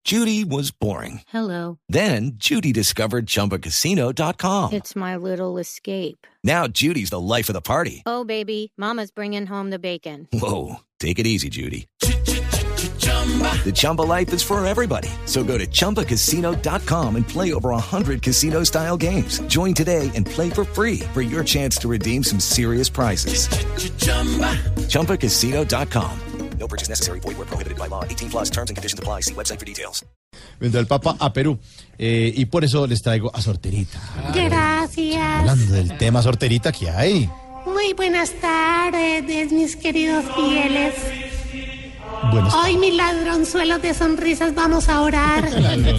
Judy was boring. Hello. Then Judy discovered ChumbaCasino.com. It's my little escape. Now Judy's the life of the party. Oh, baby, mama's bringing home the bacon. Whoa, take it easy, Judy. The Chumba life is for everybody. So go to ChumbaCasino.com and play over 100 casino-style games. Join today and play for free for your chance to redeem some serious prizes. ChumbaCasino.com. No purchase necessary. Void where prohibited by law. 18 plus terms and conditions apply. See website for details. Vendrá el Papa a Perú y por eso les traigo a Sorterita. Gracias. Hablando del tema Sorterita que hay. Muy buenas tardes, mis queridos fieles. Buenas Hoy, mis ladronzuelos de sonrisas, vamos a orar.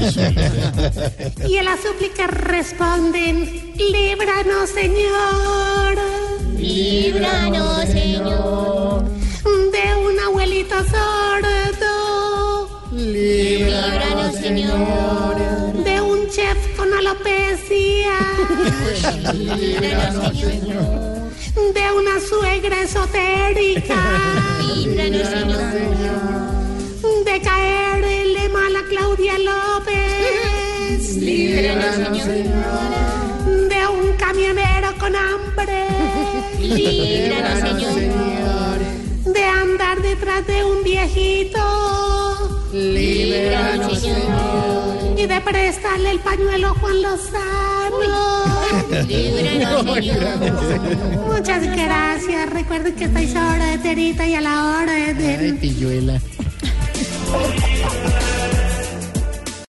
Y en las súplicas responden: líbranos, Señor. Líbranos, Señor. De un abuelito sordo. Líbranos, Señor. De un chef con alopecia. Líbranos, Señor. De una suegra esotérica. Líbranos, Señor. De caerle mal a Claudia López. Líbranos, Señor. De un camionero con hambre. Líbranos, Señor. De andar detrás de un viejito. Líbranos, Señor. Y de prestarle el pañuelo a Juan Lozano. Líbranos, Señor. Muchas gracias. Recuerden que estáis a hora de Terita y a la hora de... Pilluela.